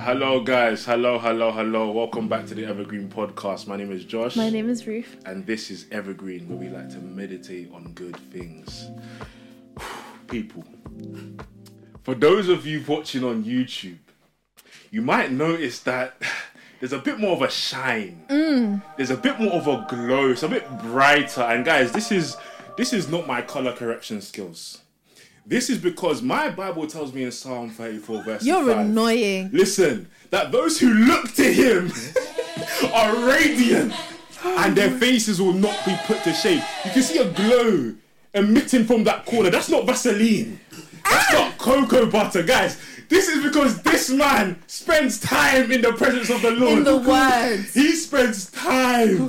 Hello guys, hello. Welcome back to the Evergreen Podcast. My name is Josh. My name is Ruth. And this is Evergreen, where we like to meditate on good things. People, for those of you watching on YouTube, you might notice that there's a bit more of a shine. There's a bit more of a glow. It's a bit brighter. And guys, this is not my color correction skills. This is because my Bible tells me in Psalm 34 verse 5. You're annoying. Listen, that those who look to him are radiant and their faces will not be put to shame. You can see a glow emitting from that corner. That's not Vaseline. That's not cocoa butter, guys. This is because this man spends time in the presence of the Lord. In the words. He spends time.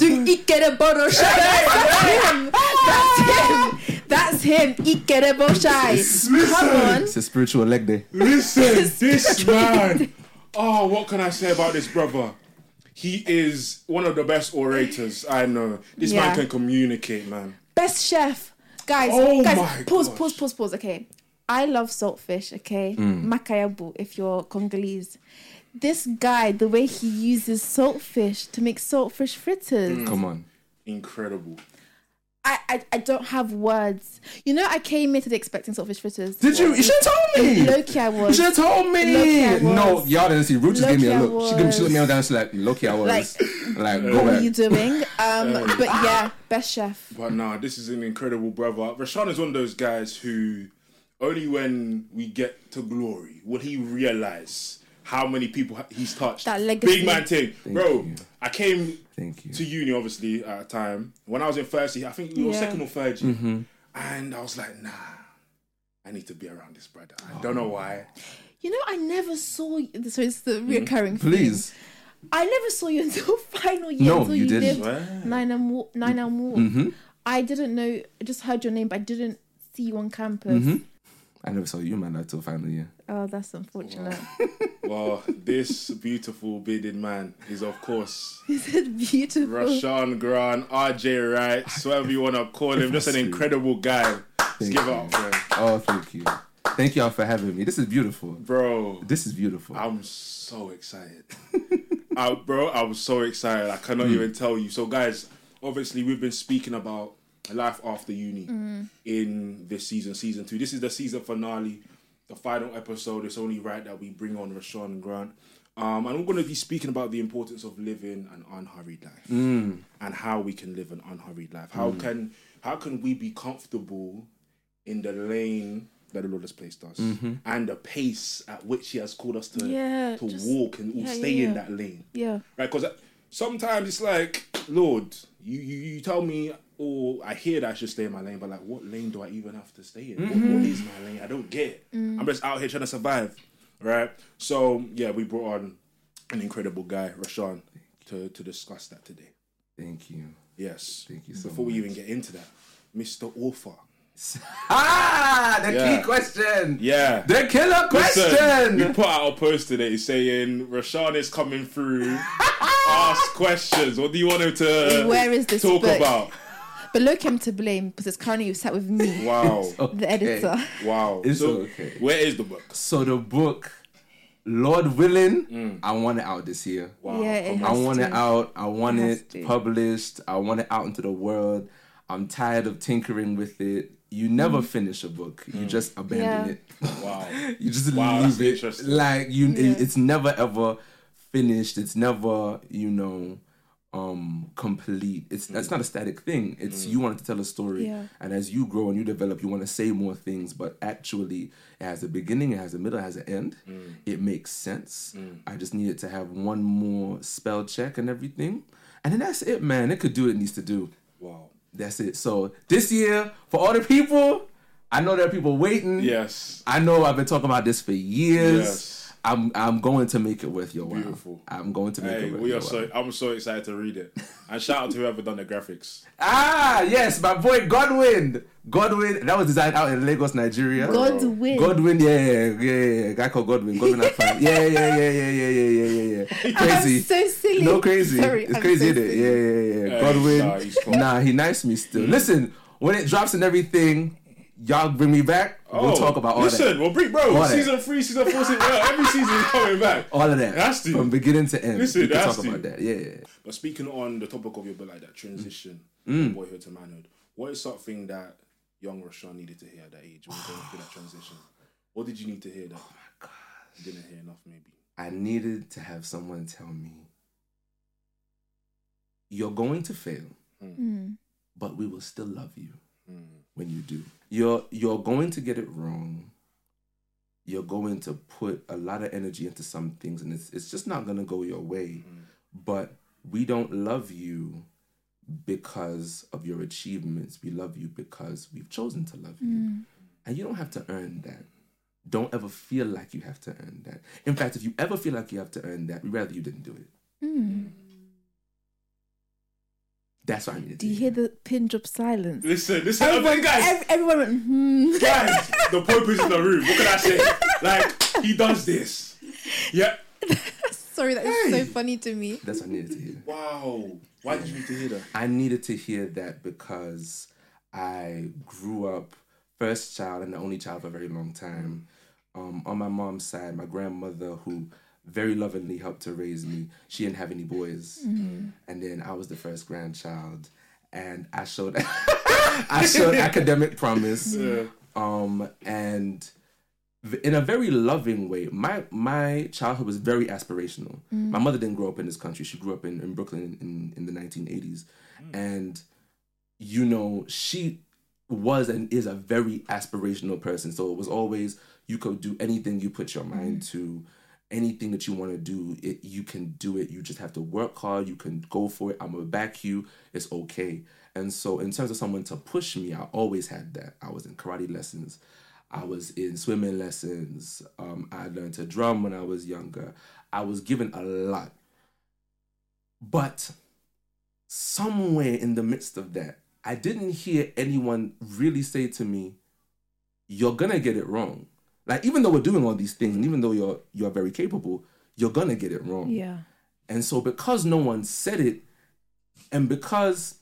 That's him. Come on. It's a spiritual leg day. Listen, this man. Oh, what can I say about this brother? He is one of the best orators I know. This man can communicate, man. Best chef. Guys, my pause. Okay. I love saltfish, okay? Makayabu, if you're Congolese. This guy, the way he uses saltfish to make saltfish fritters. Come on. Incredible. I don't have words. You know, I came here today expecting saltfish fritters. Did you? You should have told me. Low-key I was. You should have told me. Low-key I was. No, y'all didn't see. Ruth just gave me a Low-key I look. She looked me down. She's like, low-key I was. Like go What were back. you doing? But yeah, best chef. But nah, this is an incredible brother. Rashawn is one of those guys who only when we get to glory will he realize how many people he's touched. That legacy. Big man thing. Thank Bro, you. I came Thank you. to uni, obviously, at a time. When I was in first year, I think you were second or third year. And I was like, nah, I need to be around this brother. I don't know why. You know, I never saw you. So it's the reoccurring thing. Please. I never saw you until final year. No, until you didn't. lived 9 Elm Walk. I didn't know. I just heard your name, but I didn't see you on campus. I never saw you, man, until final year. Oh, that's unfortunate. Well, this beautiful bearded man is, of course, He said beautiful. Rashawn Grant, RJ Wright, whatever you want to call him. Just an incredible guy. Let's give it up for him. Oh, thank you. Thank y'all for having me. This is beautiful. Bro, This is beautiful. I'm so excited. I'm so excited. I cannot even tell you. So, guys, obviously, we've been speaking about life after uni in this season 2. This is the season finale, the final episode. It's only right that we bring on Rashawn Grant. And we're going to be speaking about the importance of living an unhurried life and how we can live an unhurried life. How can we be comfortable in the lane that the Lord has placed us and the pace at which He has called us to walk and stay in that lane. Yeah. Right? Because sometimes it's like, Lord, you tell me, or I hear that I should stay in my lane, but like, what lane do I even have to stay in? What is my lane? I don't get it. I'm just out here trying to survive, right? So yeah, we brought on an incredible guy, Rashawn, to discuss that today. Thank you. Yes. Thank you so Before we much. even get into that, Mr. Author. The key question. Yeah. The killer question. Listen, we put out a post today saying Rashawn is coming through. Ask questions. What do you want him to Where is this talk book? about? But look him to blame because it's currently sat with me, Wow. the editor. Wow. It's So, okay. where is the book? So the book, Lord willing, I want it out this year. Wow. Yeah, it I has want to. it out. I want It has it to. published. I want it out into the world. I'm tired of tinkering with it. You never finish a book. You just abandon it. Wow. You just Wow, that's leave it. interesting. Like it's never ever finished. It's never complete. That's not a static thing. It's you want to tell a story, and as you grow and you develop, you want to say more things. But actually, it has a beginning, it has a middle, it has an end. It makes sense. I just needed to have one more spell check and everything, and then that's it, man. It could do what it needs to do. Wow. That's it. So this year, for all the people, I know there are people waiting. Yes. I know I've been talking about this for years. Yes. I'm going to make it worth your while. Beautiful. I'm going to make Hey, it worth your while. I'm so excited to read it. And shout out to whoever done the graphics. Yes, my boy Godwin. That was designed out in Lagos, Nigeria. Godwin. Yeah. Guy called Godwin. Yeah. Crazy. I'm so silly. No, crazy. Sorry, It's I'm crazy, so isn't it? silly. Yeah. Nah, he's cool. Godwin. Nah, he nice me still. Listen, when it drops and everything, y'all bring me back. We'll talk about all that. Listen, we'll bring season 3, season 4, every season is coming back. All of that. It has to. From beginning to end. Listen, we can talk to. about that. Yeah. But speaking on the topic of your book, like that transition from boyhood to manhood, what is something that young Rashawn needed to hear at that age when going through that transition? What did you need to hear that? Oh my God. You didn't hear enough, maybe. I needed to have someone tell me, you're going to fail, but we will still love you when you do. You're going to get it wrong. You're going to put a lot of energy into some things, and it's just not going to go your way. But we don't love you because of your achievements. We love you because we've chosen to love you. And you don't have to earn that. Don't ever feel like you have to earn that. In fact, if you ever feel like you have to earn that, we'd rather you didn't do it. That's what I needed to hear. Do you hear the pin drop silence? Listen, guys. Everyone went, Guys, the Pope is in the room. What can I say? Like, he does this. Yeah. Sorry, that is so funny to me. That's what I needed to hear. Wow. Why did you need to hear that? I needed to hear that because I grew up first child and the only child for a very long time. On my mom's side, my grandmother, who very lovingly helped to raise me, she didn't have any boys. And then I was the first grandchild. And I showed academic promise. And in a very loving way. My childhood was very aspirational. My mother didn't grow up in this country. She grew up in Brooklyn in the 1980s. And, you know, she was and is a very aspirational person. So it was always, you could do anything you put your mind to, anything that you want to do, you can do it. You just have to work hard. You can go for it. I'm going to back you. It's okay. And so in terms of someone to push me, I always had that. I was in karate lessons. I was in swimming lessons. I learned to drum when I was younger. I was given a lot. But somewhere in the midst of that, I didn't hear anyone really say to me, you're going to get it wrong. Like, even though we're doing all these things, and even though you're very capable, you're going to get it wrong. Yeah. And so because no one said it, and because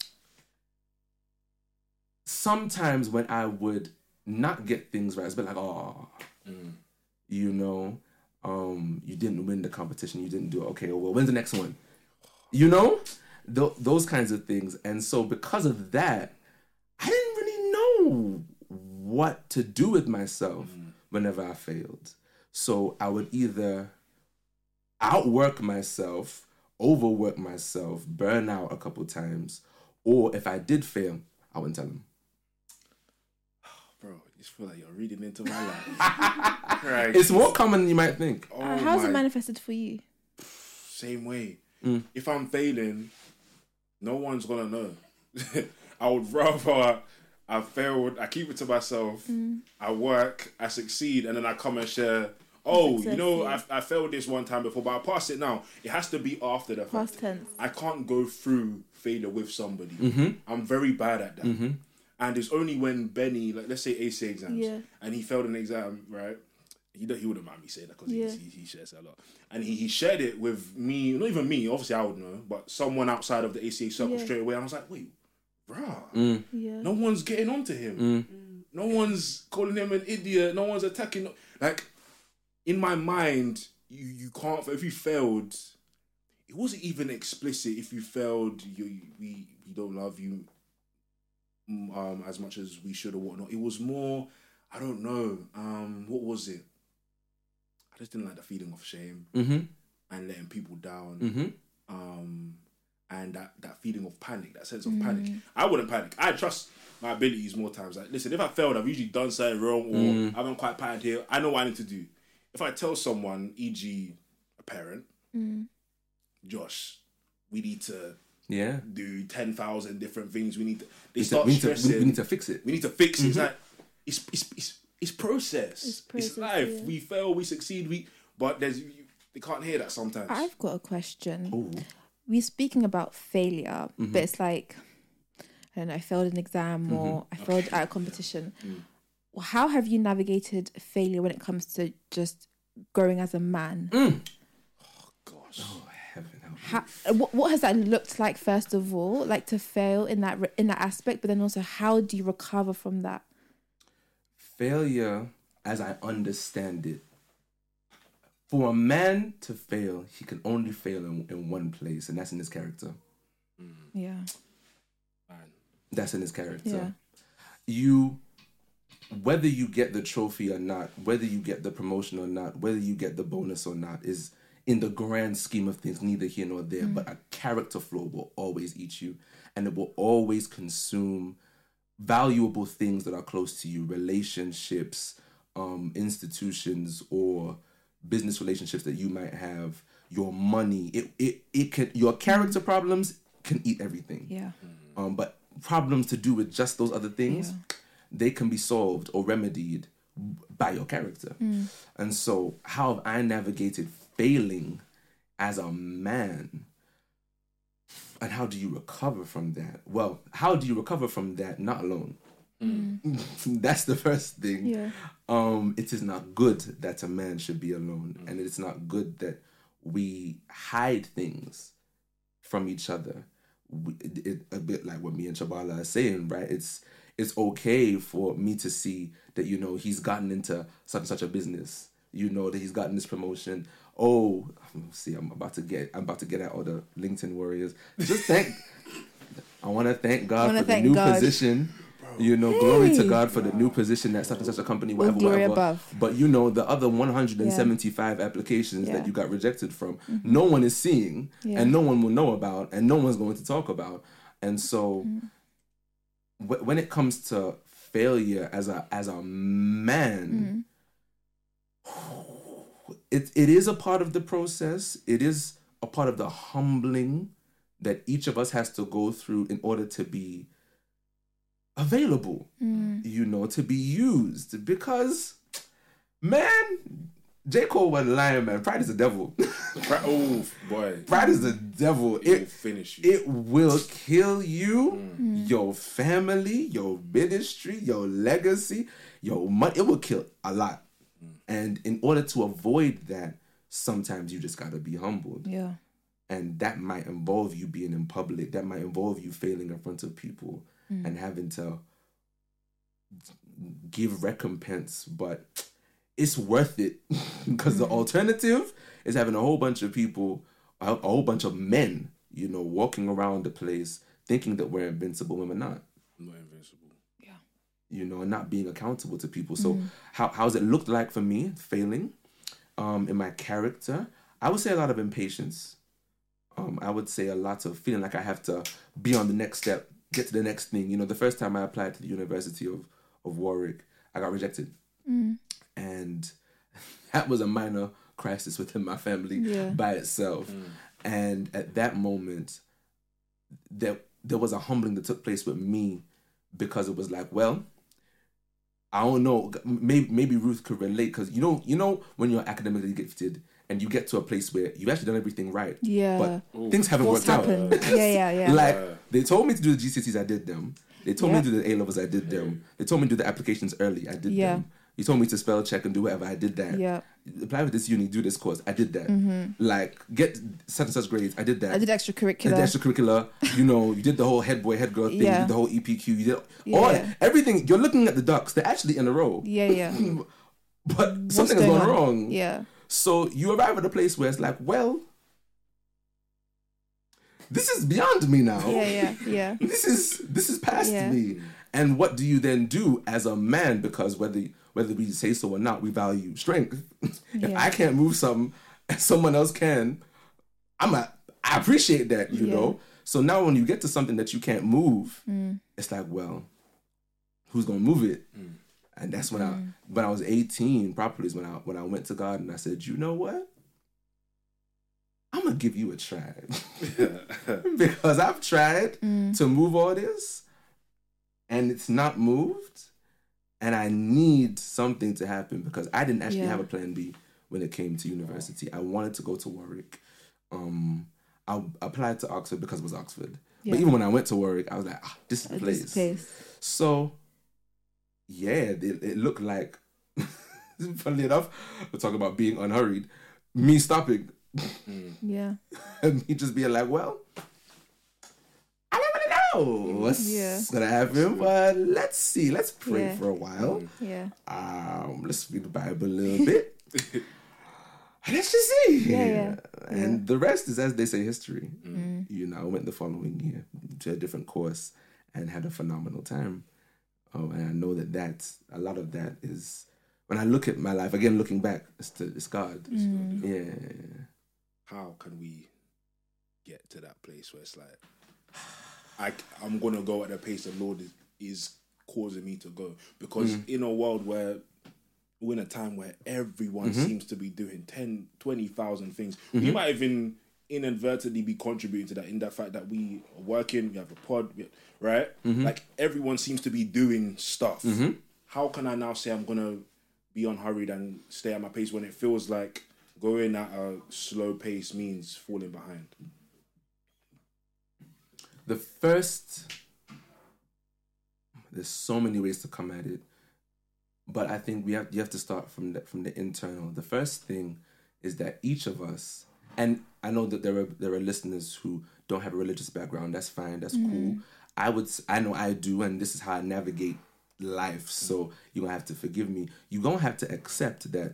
sometimes when I would not get things right, it's been like, you know, you didn't win the competition, you didn't do it. Okay, well, when's the next one? You know? Those kinds of things. And so because of that, I didn't really know what to do with myself whenever I failed. So I would either outwork myself, overwork myself, burn out a couple times, or if I did fail, I wouldn't tell them. Bro, I just feel like you're reading into my life. Right. It's more common than you might think. How's it manifested for you? Same way. If I'm failing, no one's gonna know. I would rather I failed, I keep it to myself, I work, I succeed, and then I come and share, I failed this one time before, but I passed it now. It has to be after the fact. Past tense. I can't go through failure with somebody. I'm very bad at that. And it's only when Benny, like, let's say ACA exams, and he failed an exam, right? He wouldn't mind me saying that because he shares a lot. And he shared it with me, not even me, obviously I would know, but someone outside of the ACA circle straight away. And I was like, wait, bruh, no one's getting onto him. No one's calling him an idiot. No one's attacking. Like, in my mind, you can't, if you failed, it wasn't even explicit. If you failed, we don't love you as much as we should or whatnot. It was more, I don't know, what was it? I just didn't like the feeling of shame and letting people down. And that feeling of panic, that sense of panic. I wouldn't panic. I trust my abilities more times. Like, listen, if I failed, I've usually done something wrong or I haven't quite patterned here. I know what I need to do. If I tell someone, e.g. a parent, Josh, we need to do 10,000 different things. We need to... we need to fix it. We need to fix it. It's like, it's process. It's life. Yeah. We fail, we succeed, but they can't hear that sometimes. I've got a question. Ooh. We're speaking about failure, but it's like, I don't know, I failed an exam or I failed at a competition. Well, how have you navigated failure when it comes to just growing as a man? Oh, gosh. Oh, heaven. What has that looked like, first of all, like to fail in that aspect, but then also how do you recover from that? failure, as I understand it, for a man to fail, he can only fail in one place, and that's in his character. Yeah. That's in his character. Yeah. Whether you get the trophy or not, whether you get the promotion or not, whether you get the bonus or not, is in the grand scheme of things neither here nor there. But a character flaw will always eat you, and it will always consume valuable things that are close to you, relationships, institutions, or business relationships that you might have, your money. It can, your character problems can eat everything. Yeah. But problems to do with just those other things, they can be solved or remedied by your character. And so how have I navigated failing as a man? And how do you recover from that? Well, how do you recover from that? Not alone. That's the first thing. Yeah. It is not good that a man should be alone. And it is not good that we hide things from each other. A bit like what me and Chabala are saying, right? It's okay for me to see that, you know, he's gotten into such and such a business. You know, that he's gotten this promotion. Oh, see, I'm about to get at all the LinkedIn warriors. I want to thank God for the new position. You know, glory to God for the new position at such and such a company, whatever. Above. But you know, the other 175 applications that you got rejected from, no one is seeing, and no one will know about, and no one's going to talk about. And so, when it comes to failure as a man, it is a part of the process. It is a part of the humbling that each of us has to go through in order to be available, you know, to be used. Because, man, J. Cole wasn't lying, man. Pride is the devil. Oh, boy. Pride is the devil. It will finish you. It will kill you, your family, your ministry, your legacy, your money. It will kill a lot. And in order to avoid that, sometimes you just got to be humbled. Yeah. And that might involve you being in public. That might involve you failing in front of people and having to give recompense. But it's worth it because the alternative is having a whole bunch of people, a whole bunch of men, you know, walking around the place thinking that we're invincible when we're not. Not invincible. Yeah. You know, and not being accountable to people. So how's it looked like for me, failing in my character? I would say a lot of impatience. I would say a lot of feeling like I have to be on the next step, get to the next thing. You know, the first time I applied to the University of Warwick, I got rejected. And that was a minor crisis within my family by itself. And at that moment, there was a humbling that took place with me, because it was like, well, I don't know, maybe Ruth could relate, because you know when you're academically gifted and you get to a place where you've actually done everything right, but things haven't worked out. Yeah. Like, they told me to do the GCSEs, I did them. They told me to do the A-levels, I did them. They told me to do the applications early, I did them. You told me to spell check and do whatever, I did that. Yeah. Apply for this uni, do this course, I did that. Like, get such and such grades, I did that. I did extracurricular. You know, you did the whole head boy, head girl thing, you did the whole EPQ, you did everything. You're looking at the ducks, they're actually in a row. But something has gone wrong. Yeah. So you arrive at a place where it's like, well, this is beyond me now. Yeah. This is past me. And what do you then do as a man? Because whether we say so or not, we value strength. If I can't move something and someone else can, I appreciate that, you know. So now when you get to something that you can't move, it's like, well, who's gonna move it? And that's when I was 18 properly is when I went to God and I said, you know what? I'm gonna give you a try. Because I've tried to move all this and it's not moved, and I need something to happen, because I didn't actually have a plan B when it came to university. I wanted to go to Warwick. I applied to Oxford because it was Oxford. But even when I went to Warwick, I was like, this is the place. So, it looked like, funnily enough, we're talking about being unhurried, me stopping. And me just being like, well, I don't really know what's gonna happen, but let's see. Let's pray for a while. Yeah. Let's read the Bible a little bit. Let's just see. And the rest is, as they say, history. You know, I went the following year to a different course and had a phenomenal time. And I know that's a lot of that is, when I look at my life, again, looking back, it's God. Yeah. How can we get to that place where it's like, I'm going to go at the pace the Lord is causing me to go? Because in a world where we're in a time where everyone seems to be doing 10, 20,000 things, we might even inadvertently be contributing to that, in that fact that we are working, we have a pod, right? Like, everyone seems to be doing stuff. How can I now say I'm going to be unhurried and stay at my pace when it feels like going at a slow pace means falling behind? There's so many ways to come at it, but I think you have to start from the internal. The first thing is that each of us, and I know that there are listeners who don't have a religious background. That's fine. That's cool. I know I do, and this is how I navigate life. So you're gonna have to forgive me. You're gonna have to accept that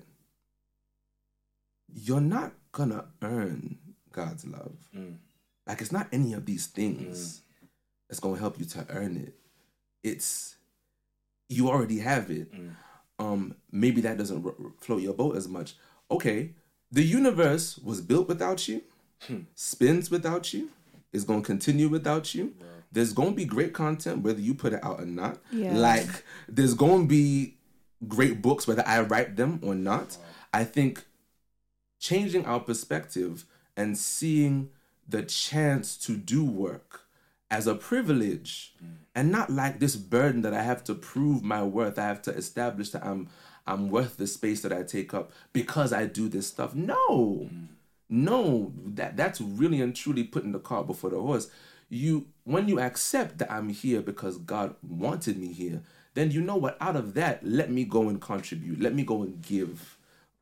you're not gonna earn God's love. Like, it's not any of these things that's gonna help you to earn it. It's, you already have it. Maybe that doesn't float your boat as much. Okay, the universe was built without you, spins without you, is gonna continue without you. Wow. There's gonna be great content whether you put it out or not. Like, there's gonna be great books whether I write them or not. Wow. I think changing our perspective and seeing the chance to do work as a privilege and not like this burden that I have to prove my worth. I have to establish that I'm worth the space that I take up because I do this stuff. No, that's really and truly putting the cart before the horse. When you accept that I'm here because God wanted me here, then you know what, out of that, let me go and contribute. Let me go and give.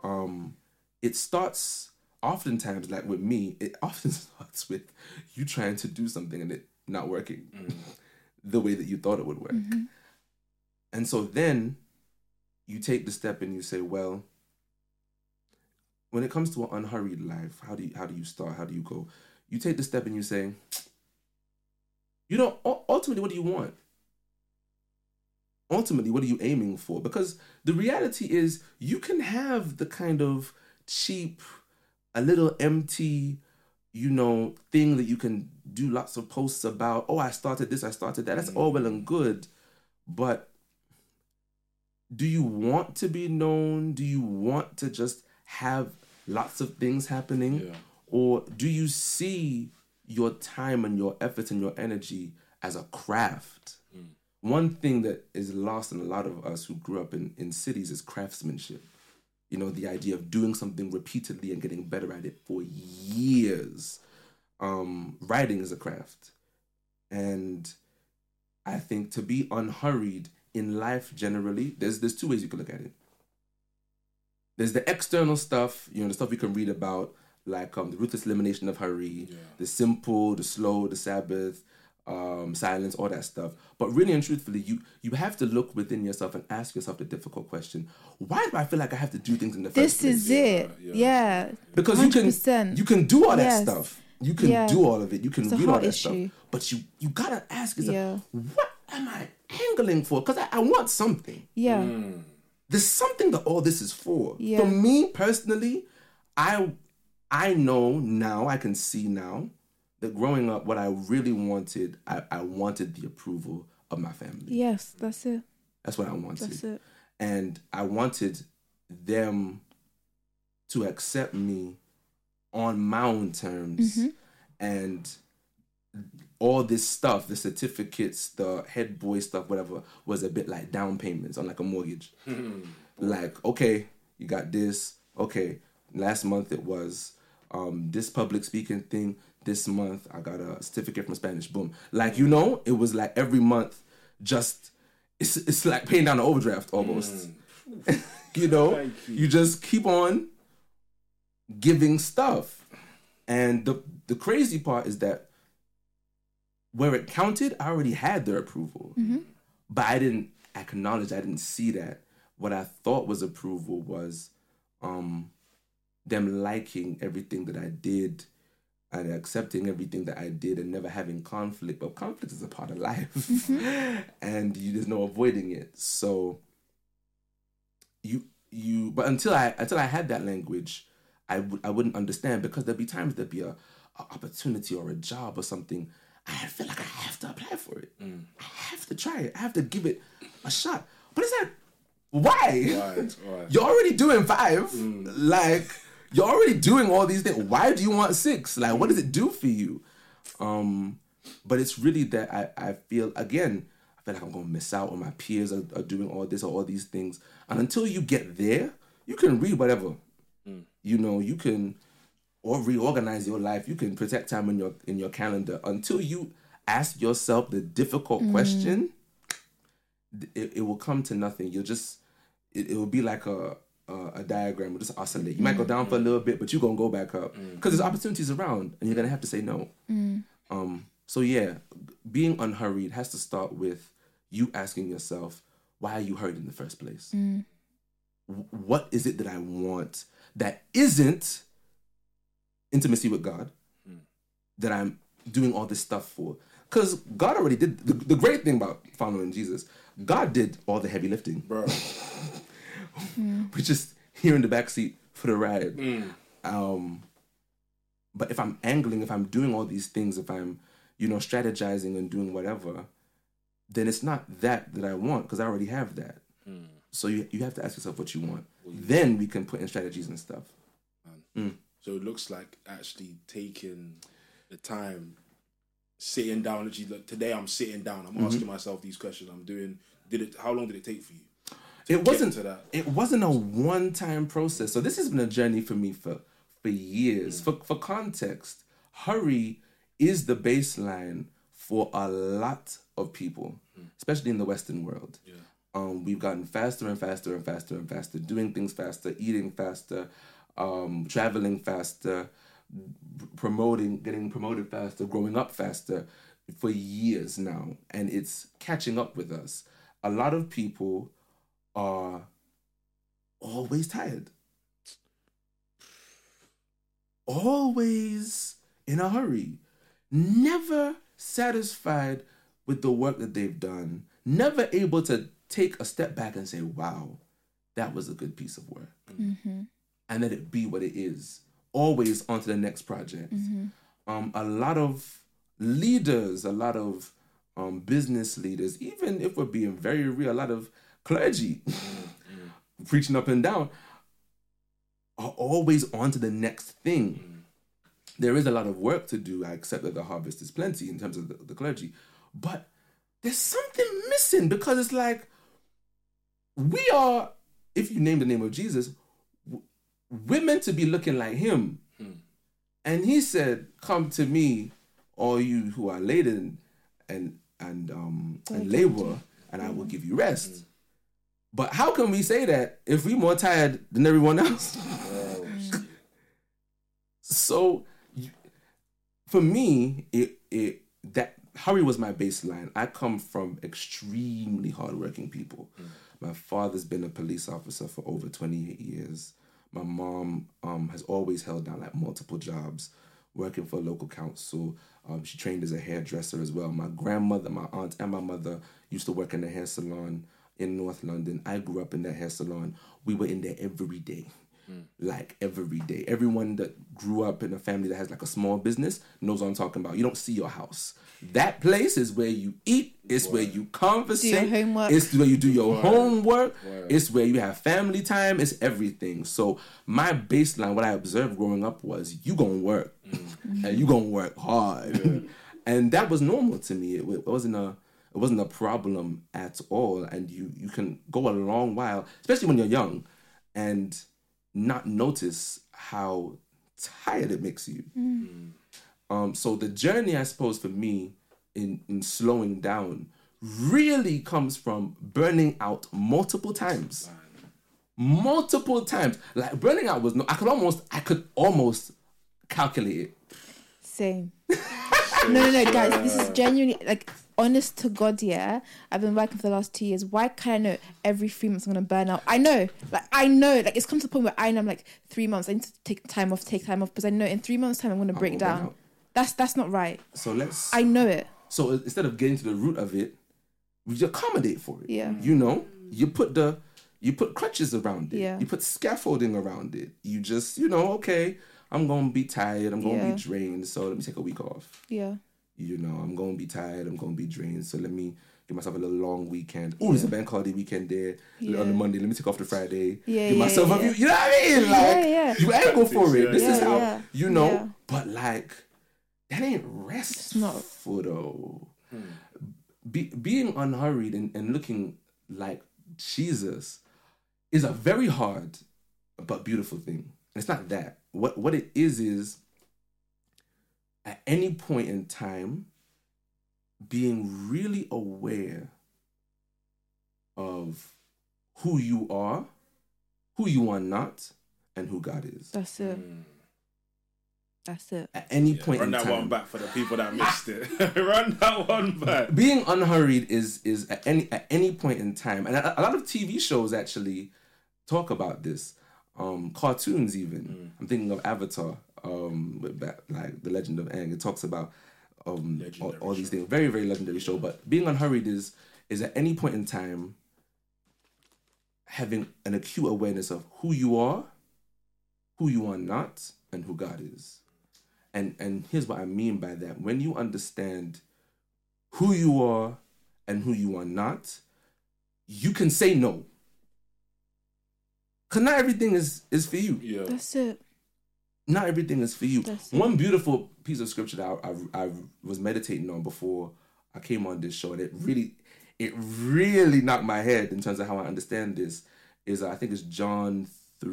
It starts, oftentimes, like with me, it often starts with you trying to do something and it not working the way that you thought it would work. And so then you take the step and you say, well, when it comes to an unhurried life, how do you start? How do you go? You take the step and you say, ultimately, what do you want? Ultimately, what are you aiming for? Because the reality is, you can have the kind of cheap, a little empty, thing that you can do lots of posts about. Oh, I started this, I started that. That's all well and good. But do you want to be known? Do you want to just have lots of things happening? Yeah. Or do you see your time and your effort and your energy as a craft? One thing that is lost in a lot of us who grew up in cities is craftsmanship. The idea of doing something repeatedly and getting better at it for years. Writing is a craft. And I think to be unhurried in life generally, there's two ways you can look at it. There's the external stuff, the stuff you can read about, like the ruthless elimination of hurry, the simple, the slow, the Sabbath, silence, all that stuff. But really and truthfully, you have to look within yourself and ask yourself the difficult question: why do I feel like I have to do things in the first place? This is it. Yeah. Because 100%. you can do all that stuff. You can do all of it. You can read all that stuff. But you gotta ask yourself, what am I angling for? Because I want something. Yeah. There's something that all this is for. Yeah. For me personally, I know now, I can see now, that growing up, what I really wanted, I wanted the approval of my family. Yes, that's it. That's what I wanted. That's it. And I wanted them to accept me on my own terms. And all this stuff, the certificates, the head boy stuff, whatever, was a bit like down payments on like a mortgage. Like, okay, you got this. Okay, last month it was this public speaking thing. This month I got a certificate from Spanish. Boom. Like, it was like every month, just, it's like paying down an overdraft almost. You just keep on giving stuff. And the crazy part is that where it counted, I already had their approval. But I didn't acknowledge, I didn't see that. What I thought was approval was them liking everything that I did and accepting everything that I did and never having conflict. But conflict is a part of life. And there's no avoiding it. So but until I had that language, I wouldn't understand, because there'd be times there'd be a opportunity or a job or something. I feel like I have to apply for it. I have to try it. I have to give it a shot. But it's like, why? Right. You're already doing 5. Like, you're already doing all these things. Why do you want 6? Like, what does it do for you? But it's really that I feel like I'm going to miss out on my peers are doing all this or all these things. And until you get there, you can read whatever. You know, you can or reorganize your life. You can protect time in your calendar. Until you ask yourself the difficult question, it will come to nothing. You'll just, it will be like a diagram. It'll just oscillate. You might go down for a little bit, but you're going to go back up. Because there's opportunities around and you're going to have to say no. So yeah, being unhurried has to start with you asking yourself, why are you hurried in the first place? What is it that I want that isn't intimacy with God, that I'm doing all this stuff for? Because God already did. The great thing about following Jesus, God did all the heavy lifting. Bro. We're just here in the backseat for the ride. But if I'm angling, if I'm doing all these things, if I'm, strategizing and doing whatever, then it's not that I want, because I already have that. So you have to ask yourself what you want. Then we can put in strategies and stuff. So it looks like actually taking the time, sitting down. Literally, today I'm sitting down. I'm asking myself these questions. I'm doing. How long did it take for you? It wasn't a one-time process. So this has been a journey for me for years. For context, hurry is the baseline for a lot of people, especially in the Western world. Yeah. We've gotten faster and faster and faster and faster, doing things faster, eating faster, traveling faster, getting promoted faster, growing up faster for years now. And it's catching up with us. A lot of people are always tired. Always in a hurry. Never satisfied with the work that they've done. Never able to take a step back and say, wow, that was a good piece of work. And let it be what it is. Always on to the next project. A lot of leaders, a lot of business leaders, even if we're being very real, a lot of clergy preaching up and down, are always on to the next thing. There is a lot of work to do. I accept that the harvest is plenty in terms of the clergy. But there's something missing, because it's like, we are, if you name the name of Jesus, we're meant to be looking like him. And he said, come to me, all you who are laden and labor, and I will give you rest. But how can we say that if we're more tired than everyone else? So for me, that hurry was my baseline. I come from extremely hardworking people. My father's been a police officer for over 28 years. My mom has always held down like multiple jobs, working for a local council. She trained as a hairdresser as well. My grandmother, my aunt, and my mother used to work in a hair salon in North London. I grew up in that hair salon. We were in there every day. Like every day. Everyone that grew up in a family that has like a small business knows what I'm talking about. You don't see your house. That place is where you eat. It's where you conversate. Do your homework. It's where you do your homework. It's where you have family time. It's everything. So my baseline, what I observed growing up was, you gonna work. And you gonna work hard. And that was normal to me. It wasn't a problem at all. And you can go a long while, especially when you're young, and not notice how tired it makes you. So the journey, I suppose, for me in slowing down really comes from burning out multiple times. Like burning out was I could almost calculate it. Same. No, guys, this is genuinely, like, honest to God, yeah. I've been working for the last 2 years. Why can't I know every 3 months I'm going to burn out? I know, like, it's come to the point where I know I'm like, 3 months, I need to take time off, because I know in 3 months' time I'm going to break down. That's not right. So I know it. So instead of getting to the root of it, we accommodate for it. Yeah. You know, you put crutches around it. Yeah. You put scaffolding around it. You just, okay, I'm going to be tired. I'm going to be drained. So let me take a week off. Yeah. I'm going to be tired. I'm going to be drained. So let me give myself a little long weekend. Oh, there's a bank holiday weekend there. On the Monday, let me take off the Friday. Give myself a few, you know what I mean? Like, you ain't go for it. This is how, but like, that ain't restful though. Being unhurried and looking like Jesus is a very hard but beautiful thing. It's not that. What it is at any point in time being really aware of who you are not, and who God is. That's it. That's it. At any point in time. Run that one back for the people that missed it. Run that one back. Being unhurried is at any point in time. And a lot of TV shows actually talk about this. Cartoons even. I'm thinking of Avatar, like The Legend of Aang. It talks about all these things. Very, very legendary show. But being unhurried is at any point in time having an acute awareness of who you are not, and who God is. And here's what I mean by that. When you understand who you are and who you are not, you can say no. Because not everything is for you. Yeah. That's it. Not everything is for you. That's One beautiful piece of scripture that I was meditating on before I came on this show, and it really knocked my head in terms of how I understand this, is I think it's John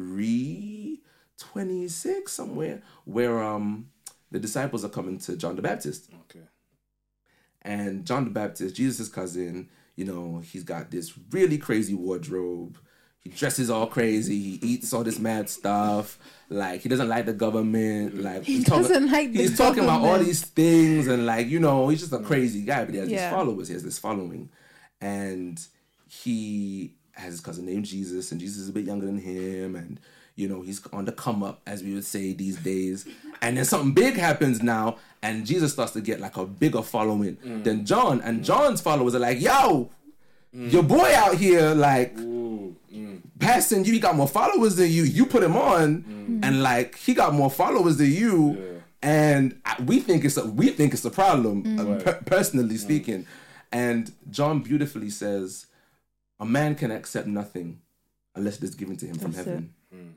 3:26 somewhere, where the disciples are coming to John the Baptist. Okay. And John the Baptist, Jesus' cousin, he's got this really crazy wardrobe. He dresses all crazy. He eats all this mad stuff. Like, he doesn't like the government. Like, he's talking about all these things, and he's just a crazy guy. But he has these followers. He has this following, and he has his cousin named Jesus, and Jesus is a bit younger than him, and he's on the come up, as we would say these days. And then something big happens now, and Jesus starts to get like a bigger following than John. And John's followers are like, yo, your boy out here, like, passing you, he got more followers than you. You put him on, and like, he got more followers than you. Yeah. And we think it's a problem, personally speaking. And John beautifully says, a man can accept nothing unless it is given to him from heaven.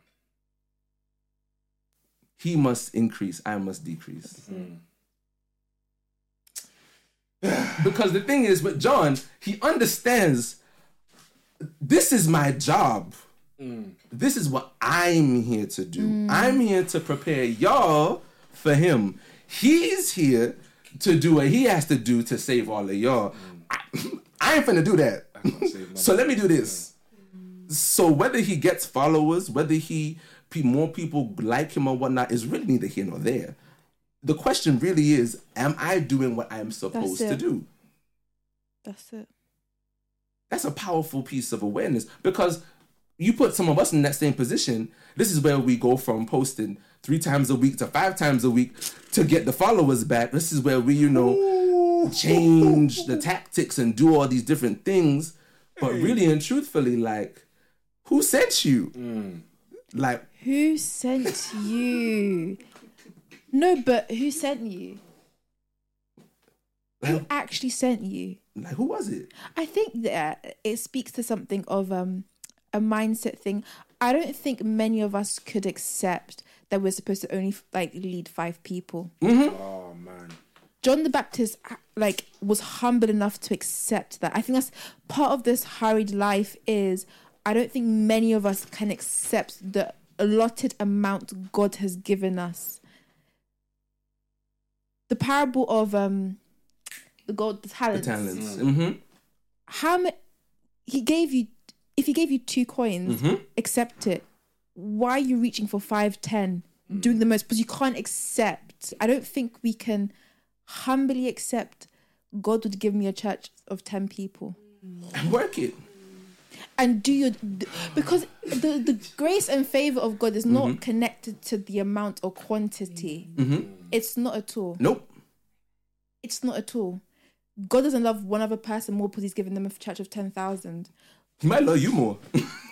He must increase, I must decrease. Because the thing is, with John, he understands, this is my job. This is what I'm here to do. I'm here to prepare y'all for him. He's here to do what he has to do to save all of y'all. I ain't finna do that. So let me do this. So whether he gets followers, whether more people like him or whatnot, is really neither here nor there. The question really is, am I doing what I'm supposed to do? That's it. That's a powerful piece of awareness, because you put some of us in that same position. This is where we go from posting 3 times a week to 5 times a week to get the followers back. This is where we, change the tactics and do all these different things. But really and truthfully, like, who sent you? Like, who sent you? No, but who sent you? Who actually sent you? Like, who was it? I think that it speaks to something of a mindset thing. I don't think many of us could accept that we're supposed to only lead 5 people. Oh man. John the Baptist was humble enough to accept that. I think that's part of this hurried life. Is I don't think many of us can accept the allotted amount God has given us. The parable of the talents. The talents. How many? He gave you. If he gave you 2 coins, accept it. Why are you reaching for 5, 10, doing the most? Because you can't accept. I don't think we can humbly accept God would give me a church of 10 people. And work it. And because the grace and favor of God is not connected to the amount or quantity. It's not at all. Nope. It's not at all. God doesn't love one other person more because he's given them a church of 10,000. He might love you more.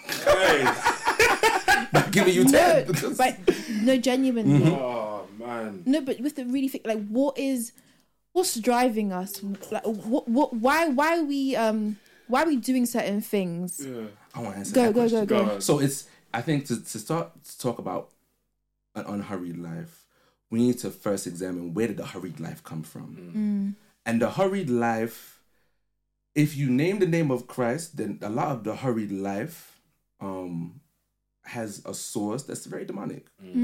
By giving you 10. No, genuinely. Oh man. No, but with the really think, like, what's driving us? Like, why are we doing certain things? Yeah. I want to answer that question. Go. So I think to start to talk about an unhurried life, we need to first examine, where did the hurried life come from? And the hurried life, if you name the name of Christ, then a lot of the hurried life has a source that's very demonic.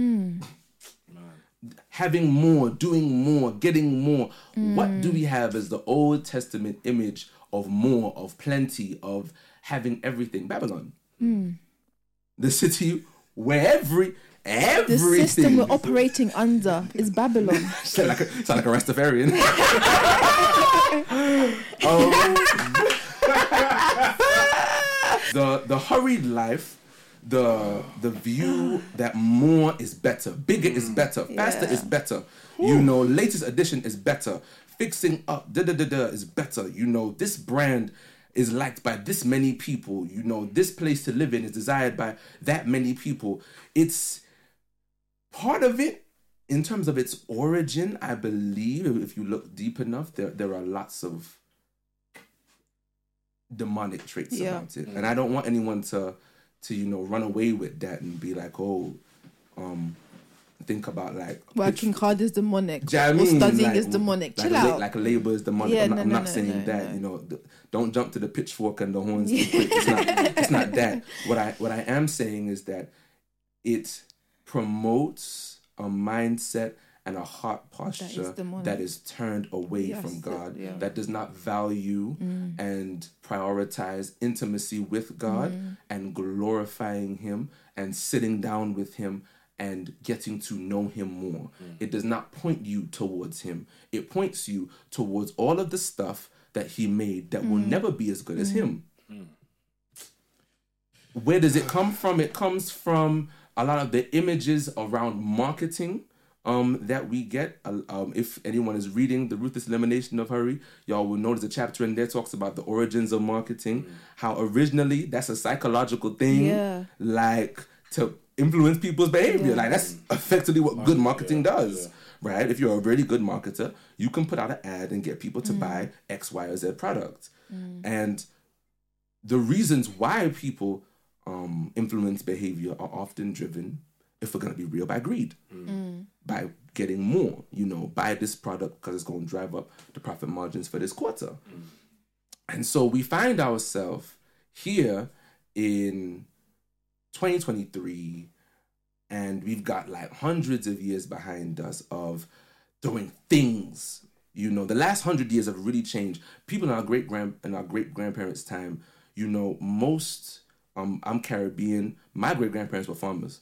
Having more, doing more, getting more. What do we have as the Old Testament image of more, of plenty, of having everything? Babylon. The city where everything. The system we're operating under is Babylon. Sound like a Rastafarian. The hurried life, the view that more is better, bigger is better, faster is better. You know, latest edition is better. Fixing up is better. You know, this brand is liked by this many people. You know, this place to live in is desired by that many people. It's part of it, in terms of its origin, I believe, if you look deep enough, there are lots of demonic traits about it. And I don't want anyone to run away with that and be like, think about like working hard is demonic, or studying is demonic. Chill out. Like labor is demonic. I'm not saying that. You know, don't jump to the pitchfork and the horns. It's not that. What I am saying is that it promotes a mindset and a heart posture that is turned away from God, that does not value and prioritize intimacy with God and glorifying Him and sitting down with Him and getting to know Him more. It does not point you towards Him. It points you towards all of the stuff that He made that will never be as good as Him. Where does it come from? It comes from a lot of the images around marketing that we get. If anyone is reading The Ruthless Elimination of Hurry, y'all will notice a chapter in there talks about the origins of marketing, how originally that's a psychological thing, like to influence people's behavior. Like that's effectively what good marketing does, right? If you're a really good marketer, you can put out an ad and get people to buy X, Y, or Z product. And the reasons why people influence behavior are often driven, if we're going to be real, by greed. By getting more, buy this product because it's going to drive up the profit margins for this quarter. And so we find ourselves here in 2023, and we've got like hundreds of years behind us of doing things. The last 100 years have really changed. People in our great grandparents' time, most I'm Caribbean. My great grandparents were farmers.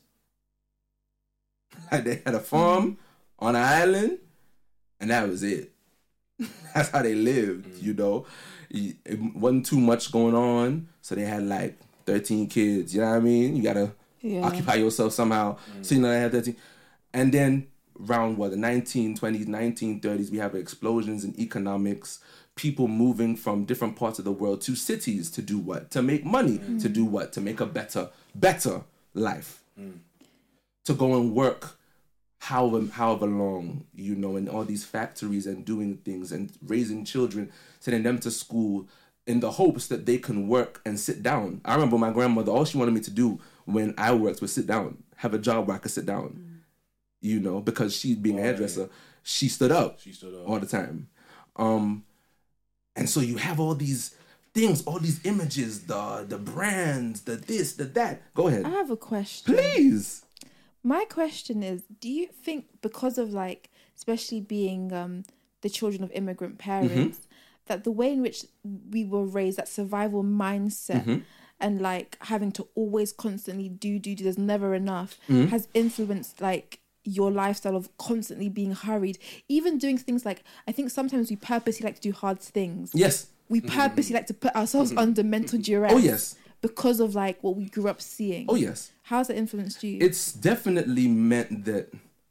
They had a farm on an island, and that was it. That's how they lived. It wasn't too much going on, so they had like 13 kids. You know what I mean? You gotta occupy yourself somehow. So they had 13, and then around the 1920s, 1930s, we have explosions in economics. People moving from different parts of the world to cities to do what? To make money. To do what? To make a better life. To go and work however long, in all these factories and doing things and raising children, sending them to school in the hopes that they can work and sit down. I remember my grandmother, all she wanted me to do when I worked was sit down, have a job where I could sit down, because she being a hairdresser, she stood up all the time. And so you have all these things, all these images, the brands, the this, the that. Go ahead. I have a question. Please. My question is, do you think because of especially being the children of immigrant parents, that the way in which we were raised, that survival mindset and having to always constantly do, there's never enough, has influenced your lifestyle of constantly being hurried, even doing things like, I think sometimes we purposely like to do hard things. Yes. We purposely like to put ourselves under mental duress. Oh, yes. Because of like what we grew up seeing. Oh, yes. How's that influenced you? It's definitely meant that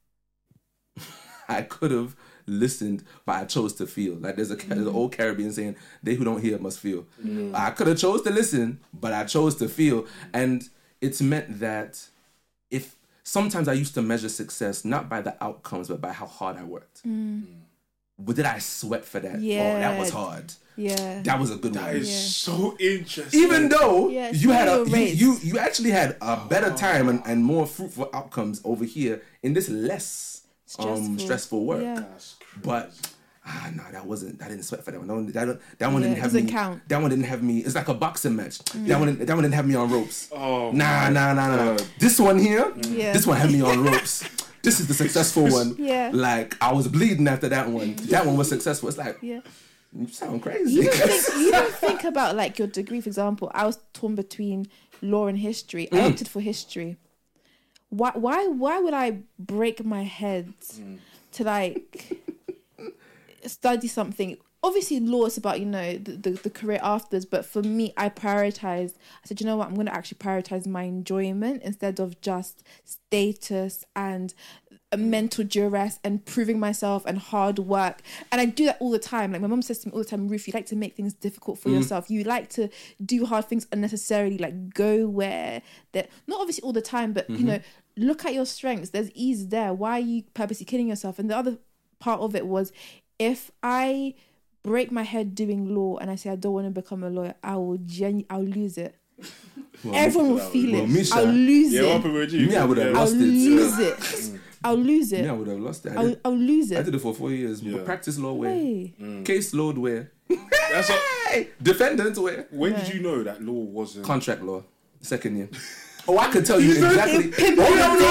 I could have listened, but I chose to feel. Like there's an old Caribbean saying, "They who don't hear must feel." I could have chose to listen, but I chose to feel. And it's meant that if sometimes I used to measure success not by the outcomes, but by how hard I worked. But did I sweat for that? Yeah. Oh, that was hard. Yeah. That was a good one. That is so interesting. Even though you had you actually had a better time and more fruitful outcomes over here in this less stressful work. Yeah. But no, I didn't sweat for that one. That one didn't have me. Count. That one didn't have me. It's like a boxing match. That one didn't have me on ropes. Oh, nah. This one here, this one had me on ropes. This is the successful one. Yeah. Like I was bleeding after that one. That one was successful. It's like, you sound crazy. You don't think about like your degree, for example. I was torn between law and history. I opted for history. Why would I break my head to like study something? Obviously, law is about, the career afterwards. But for me, I said, you know what? I'm going to actually prioritize my enjoyment instead of just status and a mental duress and proving myself and hard work. And I do that all the time. Like my mom says to me all the time, Ruth, you like to make things difficult for yourself. You like to do hard things unnecessarily, like go where that, not obviously all the time, but look at your strengths. There's ease there. Why are you purposely killing yourself? And the other part of it was, if I break my head doing law and I say I don't want to become a lawyer, I'll lose it. Well, everyone will feel it. Misha, I'll lose it. Me, I would have lost it. I'll lose it. Me, I would have lost it. I'll lose it. I did it for 4 years. Practice law where? Case load where? That's defendant where? When did you know that law wasn't? Contract law, second year. Oh, I could tell you exactly. No.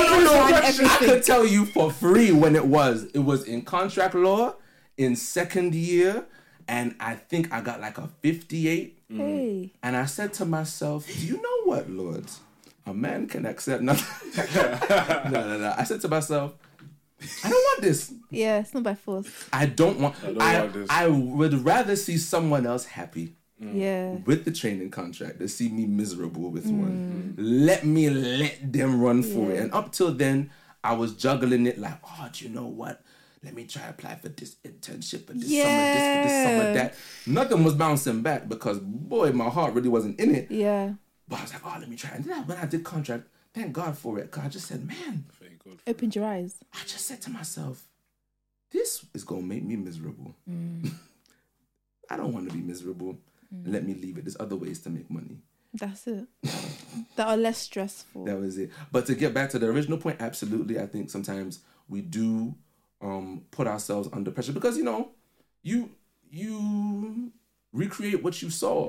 I could tell you for free when it was. It was in contract law in second year. And I think I got like a 58. Hey. And I said to myself, do you know what, Lord? A man can accept nothing. No. I said to myself, I don't want this. Yeah, it's not by force. I don't want this. I would rather see someone else happy. Yeah. With the training contract than see me miserable with one. Let them run for it. And up till then, I was juggling it like, do you know what? Let me try apply for this internship for this summer, this for this summer, that. Nothing was bouncing back because, boy, my heart really wasn't in it. Yeah. But I was like, let me try. And then when I did contract, thank God for it. Because I just said, man. Opened your eyes. I just said to myself, this is going to make me miserable. I don't want to be miserable. Let me leave it. There's other ways to make money. That's it. That are less stressful. That was it. But to get back to the original point, absolutely. I think sometimes we do put ourselves under pressure because, you recreate what you saw.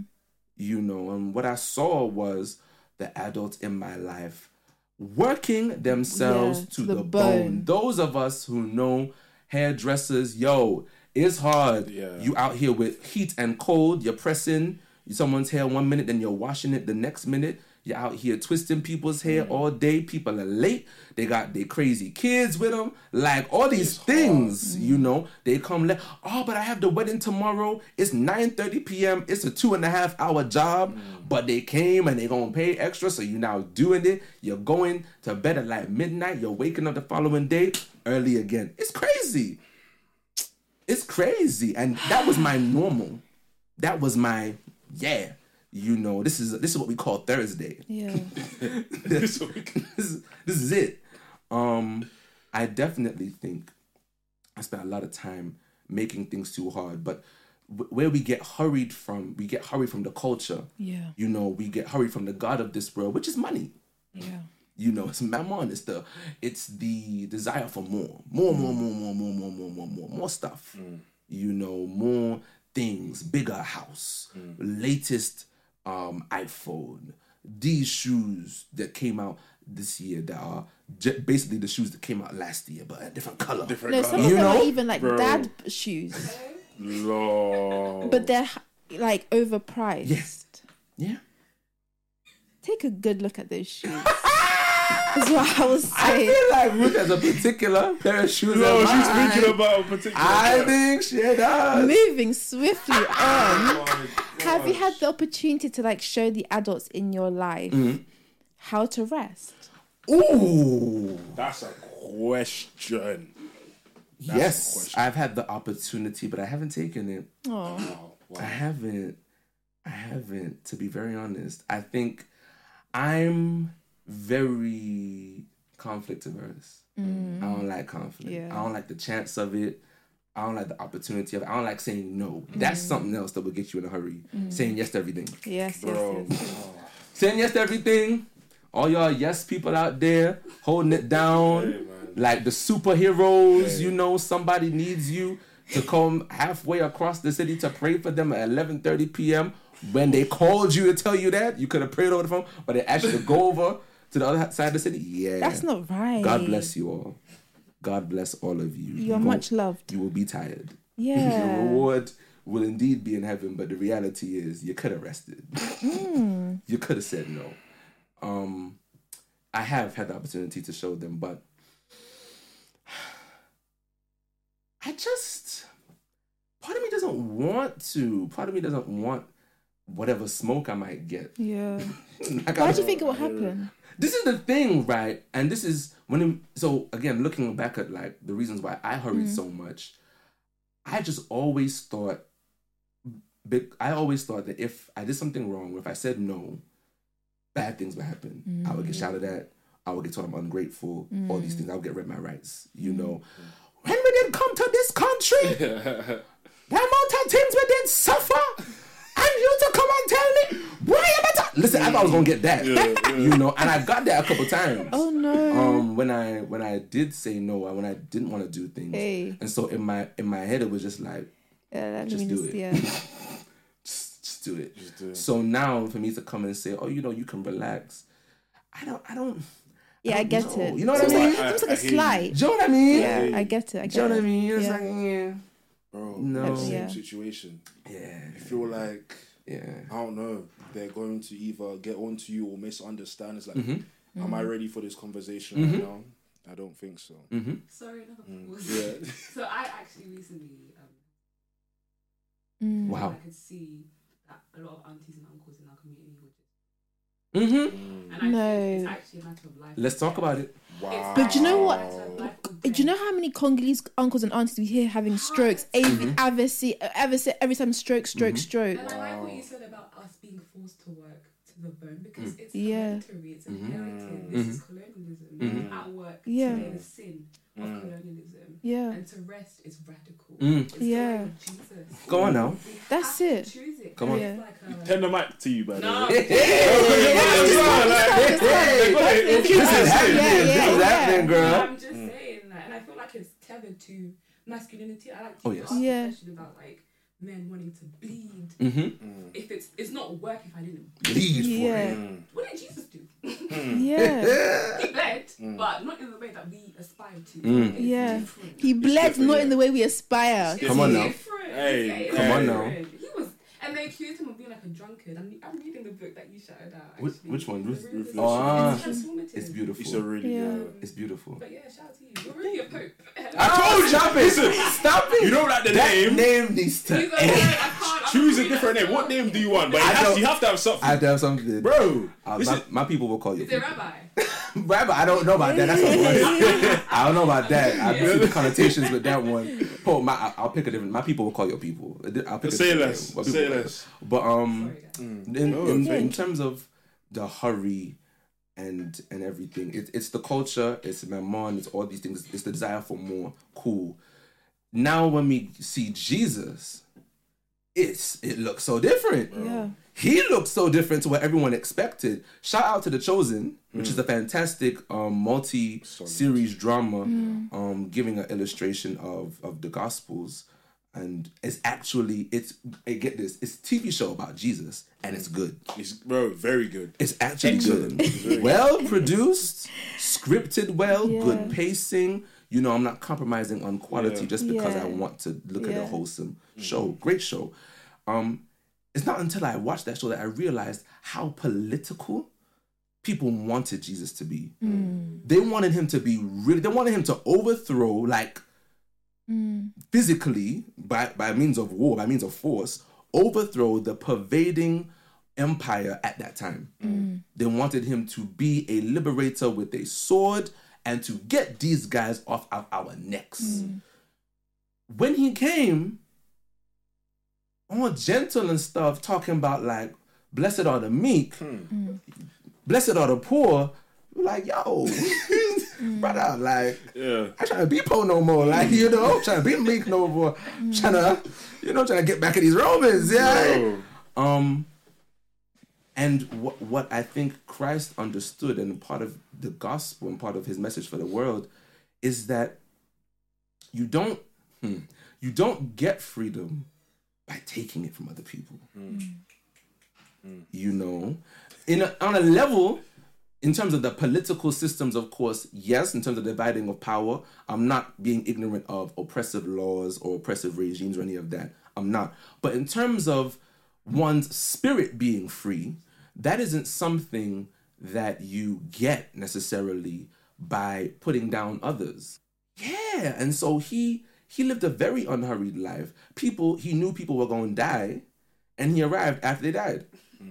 And what I saw was the adults in my life working themselves to the bone. Those of us who know hairdressers, it's hard. Yeah. You out here with heat and cold, you're pressing someone's hair 1 minute, then you're washing it the next minute. You're out here twisting people's hair all day. People are late. They got their crazy kids with them. Like all these things, they come late. But I have the wedding tomorrow. It's 9:30 p.m. It's a 2.5 hour job. But they came and they're going to pay extra. So you're now doing it. You're going to bed at like midnight. You're waking up the following day early again. It's crazy. It's crazy. And that was my normal. That was my, this is what we call Thursday. Yeah. this is it. I definitely think I spent a lot of time making things too hard, but where we get hurried from the culture. Yeah. We get hurried from the God of this world, which is money. Yeah. It's mammon. It's the desire for more stuff. More things, bigger house, latest iPhone, these shoes that came out this year that are basically the shoes that came out last year, but a different color. Some of them are even like dad shoes. Lord. But they're like overpriced. Yes. Yeah. Take a good look at those shoes. That's what I was I saying. feel like Ruth has a particular pair of shoes. No, in she's mind. thinking about a particular. I think she does. Moving swiftly on. Oh my Have you gosh. had the opportunity to like show the adults in your life how to rest? Ooh. That's a question. Yes, question. I've had the opportunity, but I haven't taken it. Oh, Wow. I haven't. To be very honest, I think I'm very conflict averse. I don't like conflict. Yeah. I don't like the chance of it. I don't like the opportunity of it. I don't like saying no. That's something else that will get you in a hurry. Saying yes to everything. yes, Bro. yes. Saying yes to everything. All y'all yes people out there holding it down. Hey, man. Like the superheroes, Hey. you know, somebody needs you to come halfway across the city to pray for them at 11:30 p.m. When they called you to tell you that, you could have prayed over the phone, but they asked you to go over to the other side of the city. Yeah. That's not right. God bless you all. God bless all of you. You're Go- much loved. You will be tired. Yeah. Your reward will indeed be in heaven, but the reality is you could have rested. You could have said no. I have had the opportunity to show them, but part of me doesn't want to. Part of me doesn't want whatever smoke I might get. Yeah. Like, Why do you think it will happen? this is the thing, right? And this is so again, looking back at like the reasons why I hurried so much, I just always thought, that if I did something wrong, or if I said no, bad things would happen. I would get shouted at. I would get told I'm ungrateful. All these things. I would get read my rights. You know, when we did come to this country, the amount of things we did suffer, and you to come and tell me why you better. Listen, I thought I was gonna get that. You know, and I got that a couple times. Oh no. When I did say no, when I didn't want to do things, Hey. and so in my head it was just like, just do it. Yeah. just do it. Just do it. So now for me to come and say, oh, you know, you can relax. I don't. Yeah, I get know. it. You know what I Seems mean? like, seems like I a hear you. slight. Do you know what I mean? Yeah, I get it. I Do get you know what I it. mean? It's Yeah. like, yeah. Bro, No. same Yeah. situation. Yeah. I feel like, Yeah. I don't know, they're going to either get onto you or misunderstand. It's like, Mm-hmm. am I ready for this conversation right now? I don't think so. Sorry, another pause. Yeah. So I actually recently, Wow. I could see that a lot of aunties and uncles in our community were just, Mm-hmm. and I No. think it's actually a matter of life. Let's talk about it. Wow. But do you know what? It's a matter of life and Do you know death. how many Congolese uncles and aunties we hear having strokes? Every time stroke. And I like what you said about us being forced to work to the bone because it's Yeah. hereditary, it's inherited. This is colonialism. At work, Yeah. today the sin of colonialism. Yeah. And to rest is radical. Mm. It's the Yeah. way of Jesus. Go on now. We That's have to it. choose it. Come on. It's like a, Turn the mic to you, by the no, way. This is happening. Yeah, This is yeah. happening, girl. I'm just saying that, and I feel like it's tethered to masculinity. I like to Oh, yes. ask Yeah. a question about like men wanting to bleed. Mm-hmm. If it's not work if I didn't Bleed for Yeah. it. What did Jesus do? Yeah. He bled, but not in the way that we aspire to. It's Yeah. different. He bled different, not yeah. in the way we aspire. Come on now. Different. Hey, It's come on different. now. He was, and they accused him of being like a drunkard. I'm reading the book that you shouted out. Which- Actually. which one? The Ruth- Ruthless Ruth- Action. Ah. It's transformative. It's beautiful. It's a really Yeah. good. It's beautiful. But yeah, shout out to you. You're really a pope. I told you, stop it. Stop it. You don't like the That name? name needs to He's like, end. I can't. Choose a different name. What name do you want? But you have to have something. I have to have something. Bro, My people will call you. Is it rabbi? Rabbi, I don't know about that. That's what it was. I don't know about that. I see the connotations with that one. Oh, I'll pick a different. My people will call your people. I'll pick a say different less. name. What Say people will less. call. But Sorry, guys. in terms of the hurry and everything, it's the culture. It's Mammon. It's all these things. It's the desire for more. Cool. Now when we see Jesus, it looks so different. Yeah. He looks so different to what everyone expected. Shout out to The Chosen, which is a fantastic multi-series drama giving an illustration of the Gospels. And it's actually, get this, it's a TV show about Jesus, and it's good. It's very good. It's actually Excellent. good. Well produced, scripted well, Yeah. good pacing. You know, I'm not compromising on quality Yeah. just because Yeah. I want to look at a Yeah. wholesome show. Great show. It's not until I watched that show that I realized how political people wanted Jesus to be. They wanted him to be really, they wanted him to overthrow, like, physically, by means of war, by means of force, overthrow the pervading empire at that time. They wanted him to be a liberator with a sword and to get these guys off of our necks. When he came, all gentle and stuff, talking about like, blessed are the meek, blessed are the poor, we're like, yo, brother, like, I trying to be poor no more, like, you know, trying to be meek no more, trying to get back at these Romans, and what I think Christ understood, and part of the gospel and part of his message for the world, is that you don't get freedom by taking it from other people. You know, on a level, in terms of the political systems, of course, yes, in terms of the dividing of power, I'm not being ignorant of oppressive laws or oppressive regimes or any of that. I'm not. But in terms of one's spirit being free, that isn't something that you get necessarily by putting down others. Yeah, and so he lived a very unhurried life. He knew people were going to die, and he arrived after they died.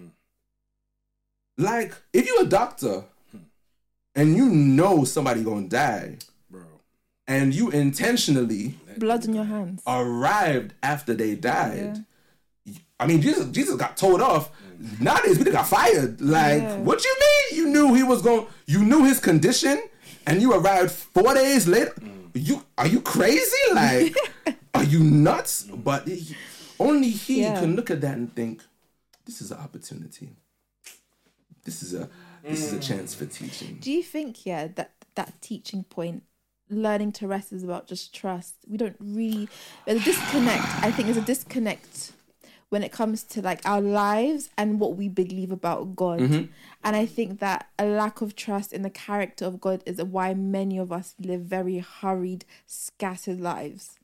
Like, if you're a doctor and you know somebody going to die, bro, and you intentionally blood in your hands arrived after they died, I mean, Jesus got told off. Nowadays, people got fired. Like, what you mean? You knew he was going, you knew his condition, and you arrived 4 days later? Are you crazy? Like, are you nuts? But only he can look at that and think, this is an opportunity. This is a chance for teaching. Do you think, that teaching point, learning to rest, is about just trust? We don't really, there's a disconnect. I think there's a disconnect when it comes to like our lives and what we believe about God. And I think that a lack of trust in the character of God is why many of us live very hurried, scattered lives.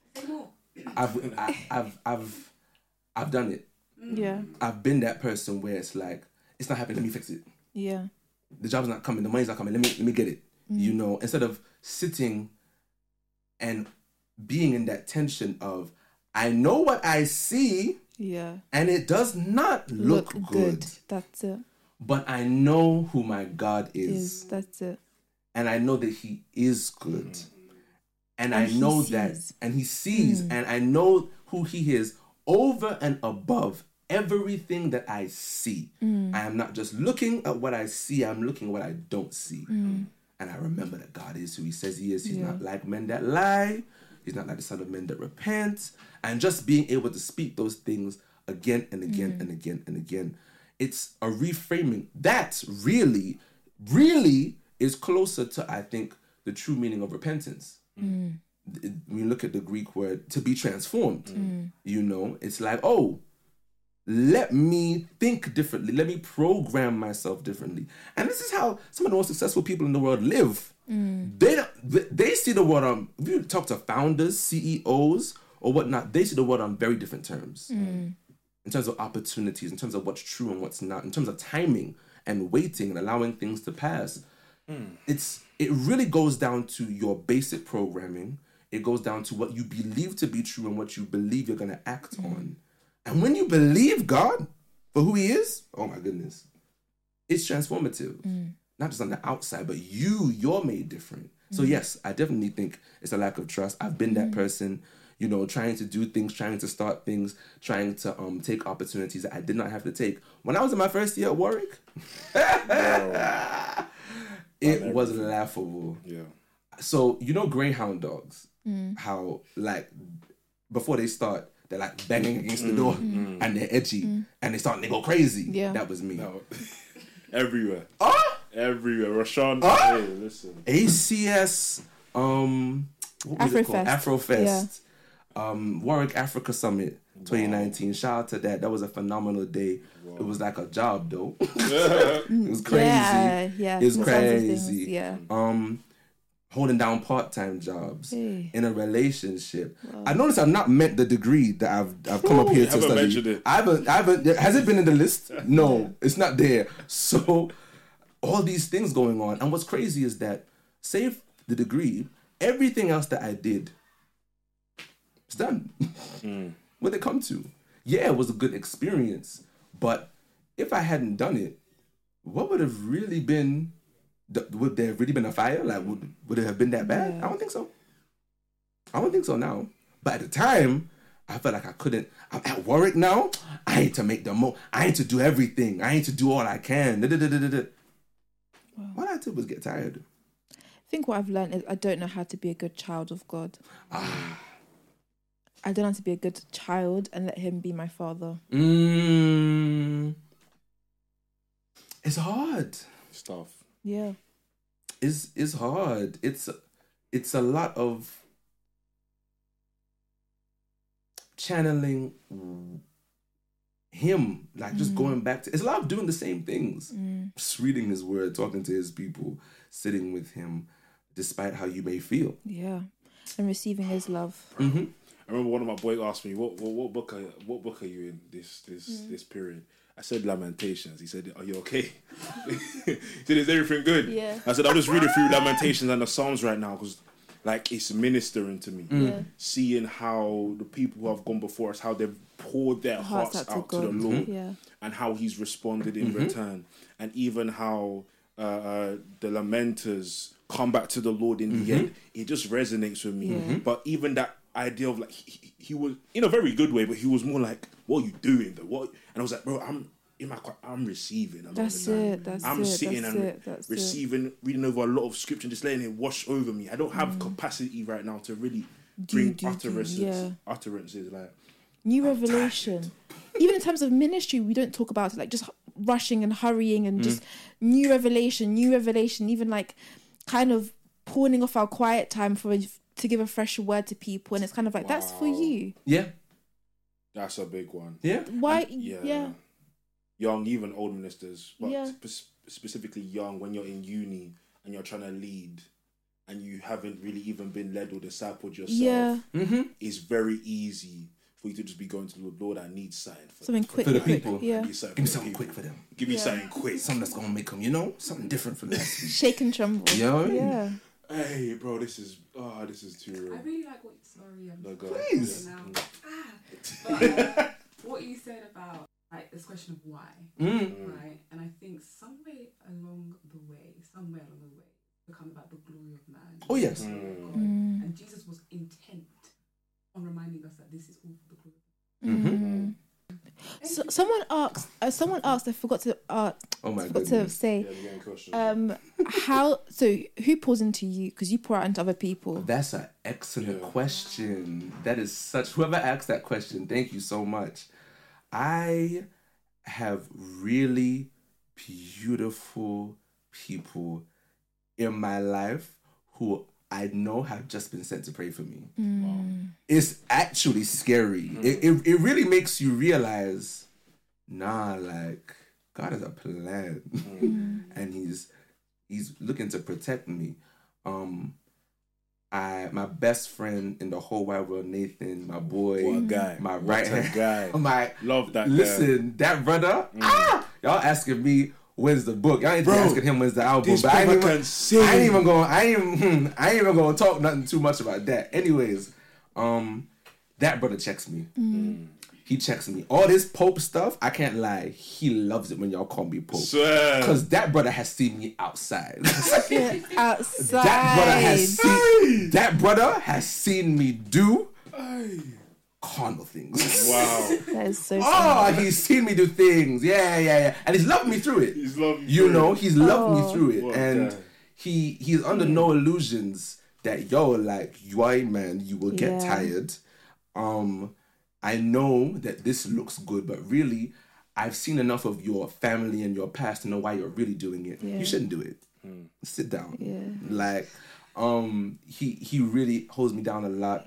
I've done it. Yeah. I've been that person where it's like, it's not happening, let me fix it. Yeah. The job's not coming, the money's not coming, let me get it. You know, instead of sitting and being in that tension of, I know what I see, and it does not look good. That's it. But I know who my God is. That's it. And I know that he is good. And I know that, and he sees, and I know who he is over and above everything that I see. I am not just looking at what I see, I'm looking at what I don't see. And I remember that God is who he says he is. He's not like men that lie. He's not like the son of men that repent. And just being able to speak those things again and again and again and again. It's a reframing. That really, really is closer to, I think, the true meaning of repentance. When you look at the Greek word, to be transformed, you know, it's like, oh, let me think differently. Let me program myself differently. And this is how some of the most successful people in the world live. They see the world on, if you talk to founders, CEOs, or whatnot, they see the world on very different terms. In terms of opportunities, in terms of what's true and what's not, in terms of timing and waiting and allowing things to pass. It really goes down to your basic programming. It goes down to what you believe to be true and what you believe you're going to act on. And when you believe God for who he is, oh my goodness, it's transformative. Not just on the outside, but you're made different. So yes, I definitely think it's a lack of trust. I've been that person, you know, trying to do things, trying to start things, trying to take opportunities that I did not have to take. When I was in my first year at Warwick, it was laughable. Yeah. So, you know, greyhound dogs, how like before they start, they're like banging against the door and they're edgy and they go crazy. Yeah. That was me. No. Everywhere. Everywhere. Rashawn. Hey, listen. ACS, what was it called? Afrofest. Yeah. Warwick Africa Summit 2019. Shout out to that. That was a phenomenal day. Wow. It was like a job though. It was crazy. Yeah. It was crazy. Yeah. Holding down part-time jobs in a relationship. Wow. I noticed I've not met the degree that I've come up here to study. I haven't. Has it been in the list? No, it's not there. So all these things going on. And what's crazy is that, save the degree, everything else that I did, it's done. What did it come to? Yeah, it was a good experience, but if I hadn't done it, what would have really been? Would there have really been a fire? Like, would it have been that bad? I don't think so. I don't think so now. But at the time, I felt like I couldn't. I'm at Warwick now. I need to make the most. I need to do everything. I need to do all I can. All I did was get tired. I think what I've learned is I don't know how to be a good child of God. I don't know how to be a good child and let him be my father. It's hard. Stuff. Yeah. It's hard. It's a lot of channeling him, like just going back to, it's a lot of doing the same things. Just reading his word, talking to his people, sitting with him, despite how you may feel. Yeah. And receiving his love. Mm-hmm. I remember one of my boys asked me, what book are you in this period? I said Lamentations. He said, "Are you okay?" He said, "Is everything good?" Yeah. I said, "I'm just reading through Lamentations and the Psalms right now because, like, it's ministering to me. Seeing how the people who have gone before us, how they've poured their hearts out to the Lord, and how He's responded in return, and even how the lamenters come back to the Lord in the end. It just resonates with me. But even that idea of like he was in a very good way, but he was more like, "What are you doing? What?" And I was like, "Bro, I'm receiving. I'm sitting and receiving, reading over a lot of scripture, and just letting it wash over me. I don't have capacity right now to really bring utterances like new revelation. Even in terms of ministry, we don't talk about it, like just rushing and hurrying and just new revelation, even like kind of pawning off our quiet time to give a fresh word to people, and it's kind of like that's for you. Yeah, that's a big one. Yeah, why? And, young, even old ministers, but specifically young, when you're in uni and you're trying to lead and you haven't really even been led or discipled yourself, it's very easy for you to just be going to the Lord. I need something for the people. Yeah. Give me something quick for them. Give me something quick. Something that's going to make them, something different from that. Shake and tremble. Yeah. Hey, bro, this is too real. I really like what. Sorry, I'm please. But, what you said about like this question of why, right? And I think somewhere along the way, become about the glory of man. Oh yes. And Jesus was intent on reminding us that this is all for the glory. So, someone asked. I forgot to say. How? So who pours into you? Because you pour out into other people. That's an excellent question. That is such. Whoever asked that question, thank you so much. I have really beautiful people in my life who I know have just been sent to pray for me. Wow. It's actually scary. It really makes you realize, like, God has a plan. And he's looking to protect me. My best friend in the whole wide world, Nathan, my boy, what a guy, my right hand guy, love that. Listen, guy. That brother, y'all asking me when's the book? Y'all ain't asking him when's the album. This but I ain't even gonna talk nothing too much about that. Anyways, that brother checks me. He checks me. All this Pope stuff, I can't lie. He loves it when y'all call me Pope. Because that brother has seen me outside. Outside. That brother has seen me do carnal things. Wow. That is so funny. He's seen me do things. Yeah. And he's loved me through it. He's loved me through it. And he's under no illusions that, man, you will get tired. I know that this looks good, but really, I've seen enough of your family and your past to know why you're really doing it. You shouldn't do it. Sit down. He really holds me down a lot.